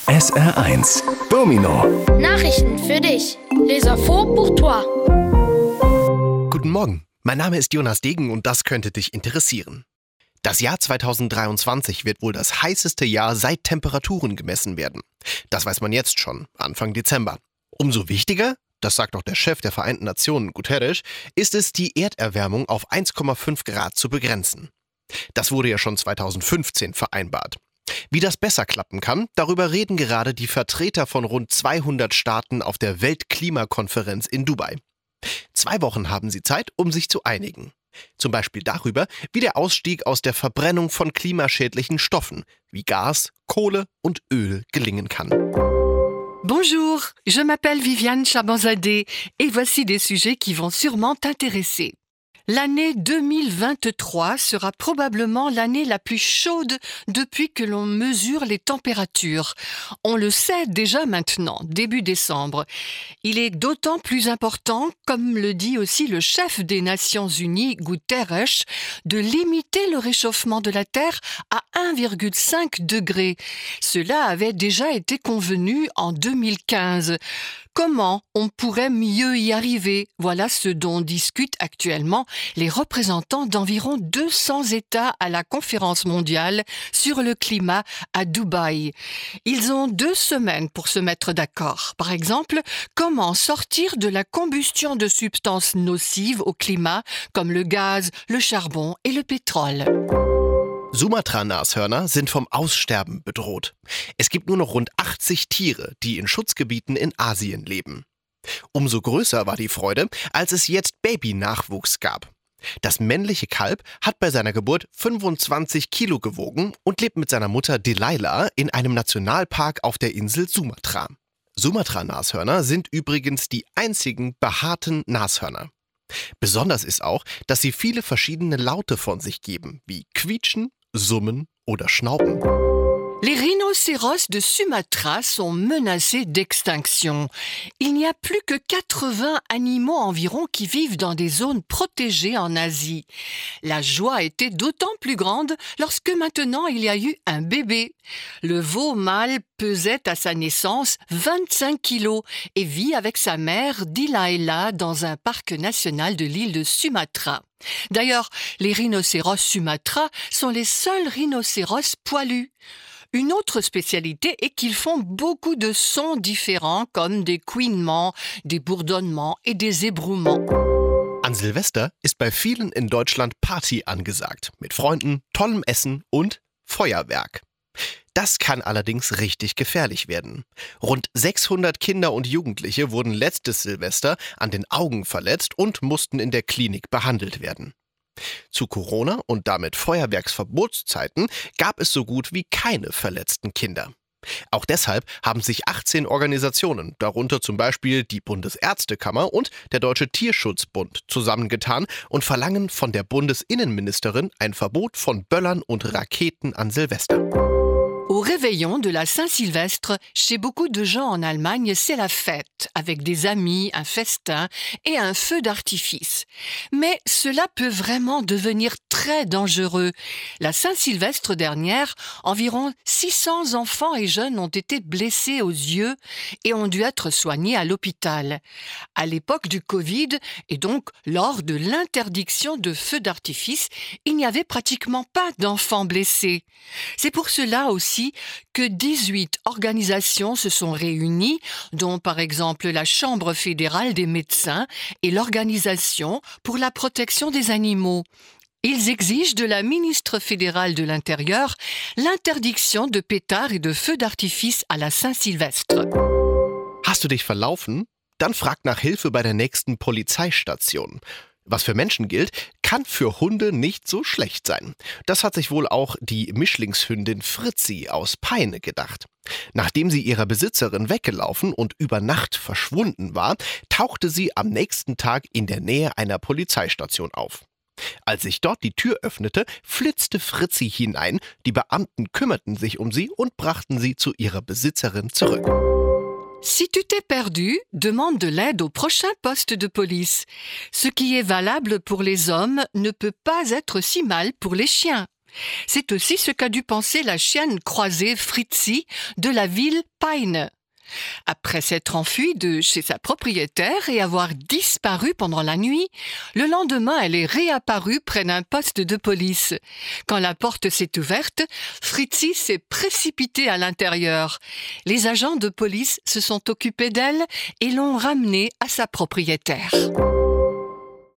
SR1 Domino. Nachrichten für dich. Les infos pour toi. Guten Morgen, mein Name ist Jonas Degen und das könnte dich interessieren. Das Jahr 2023 wird wohl das heißeste Jahr seit Temperaturen gemessen werden. Das weiß man jetzt schon, Anfang Dezember. Umso wichtiger, das sagt auch der Chef der Vereinten Nationen, Guterres, ist es, die Erderwärmung auf 1,5 Grad zu begrenzen. Das wurde ja schon 2015 vereinbart. Wie das besser klappen kann, darüber reden gerade die Vertreter von rund 200 Staaten auf der Weltklimakonferenz in Dubai. 2 Wochen haben sie Zeit, um sich zu einigen. Zum Beispiel darüber, wie der Ausstieg aus der Verbrennung von klimaschädlichen Stoffen wie Gas, Kohle und Öl gelingen kann. Bonjour, je m'appelle Viviane Chabanzadeh et voici des sujets qui vont sûrement t'intéresser. L'année 2023 sera probablement l'année la plus chaude depuis que l'on mesure les températures. On le sait déjà maintenant, début décembre. Il est d'autant plus important, comme le dit aussi le chef des Nations Unies, Guterres, de limiter le réchauffement de la Terre à 1,5 degré. Cela avait déjà été convenu en 2015. Comment on pourrait mieux y arriver? Voilà ce dont discutent actuellement les représentants d'environ 200 États à la conférence mondiale sur le climat à Dubaï. Ils ont 2 semaines pour se mettre d'accord. Par exemple, comment sortir de la combustion de substances nocives au climat comme le gaz, le charbon et le pétrole. Sumatra-Nashörner sind vom Aussterben bedroht. Es gibt nur noch rund 80 Tiere, die in Schutzgebieten in Asien leben. Umso größer war die Freude, als es jetzt Babynachwuchs gab. Das männliche Kalb hat bei seiner Geburt 25 Kilo gewogen und lebt mit seiner Mutter Delilah in einem Nationalpark auf der Insel Sumatra. Sumatra-Nashörner sind übrigens die einzigen behaarten Nashörner. Besonders ist auch, dass sie viele verschiedene Laute von sich geben, wie quietschen, summen oder schnauben. Les rhinocéros de Sumatra sont menacés d'extinction. Il n'y a plus que 80 animaux environ qui vivent dans des zones protégées en Asie. La joie était d'autant plus grande lorsque maintenant il y a eu un bébé. Le veau mâle pesait à sa naissance 25 kilos et vit avec sa mère Delilah dans un parc national de l'île de Sumatra. D'ailleurs, les rhinocéros Sumatra sont les seuls rhinocéros poilus. Une autre spécialité est qu'ils font beaucoup de sons différents comme des couinements, des bourdonnements et des ébrouements. An Silvester ist bei vielen in Deutschland Party angesagt, mit Freunden, tollem Essen und Feuerwerk. Das kann allerdings richtig gefährlich werden. Rund 600 Kinder und Jugendliche wurden letztes Silvester an den Augen verletzt und mussten in der Klinik behandelt werden. Zu Corona und damit Feuerwerksverbotszeiten gab es so gut wie keine verletzten Kinder. Auch deshalb haben sich 18 Organisationen, darunter zum Beispiel die Bundesärztekammer und der Deutsche Tierschutzbund, zusammengetan und verlangen von der Bundesinnenministerin ein Verbot von Böllern und Raketen an Silvester. Au réveillon de la Saint-Sylvestre, chez beaucoup de gens en Allemagne, c'est la fête, avec des amis, un festin et un feu d'artifice. Mais cela peut vraiment devenir très dangereux. La Saint-Sylvestre dernière, environ 600 enfants et jeunes ont été blessés aux yeux et ont dû être soignés à l'hôpital. À l'époque du Covid, et donc lors de l'interdiction de feux d'artifice, il n'y avait pratiquement pas d'enfants blessés. C'est pour cela aussi que 18 organisations se sont réunies, dont par exemple la Chambre fédérale des médecins et l'Organisation pour la protection des animaux. Ils exigent de la ministre fédérale de l'Intérieur l'interdiction de pétards et de feux d'artifice à la Saint-Sylvestre. Hast du dich verlaufen? Dann frag nach Hilfe bei der nächsten Polizeistation. Was für Menschen gilt, kann für Hunde nicht so schlecht sein. Das hat sich wohl auch die Mischlingshündin Fritzi aus Peine gedacht. Nachdem sie ihrer Besitzerin weggelaufen und über Nacht verschwunden war, tauchte sie am nächsten Tag in der Nähe einer Polizeistation auf. Als sich dort die Tür öffnete, flitzte Fritzi hinein, die Beamten kümmerten sich um sie und brachten sie zu ihrer Besitzerin zurück. Si tu t'es perdu, demande de l'aide au prochain poste de police. Ce qui est valable pour les hommes ne peut pas être si mal pour les chiens. C'est aussi ce qu'a dû penser la chienne croisée Fritzi de la ville Peine. Après s'être enfuie de chez sa propriétaire et avoir disparu pendant la nuit, le lendemain elle est réapparue près d'un poste de police. Quand la porte s'est ouverte, Fritzi s'est précipitée à l'intérieur. Les agents de police se sont occupés d'elle et l'ont ramenée à sa propriétaire.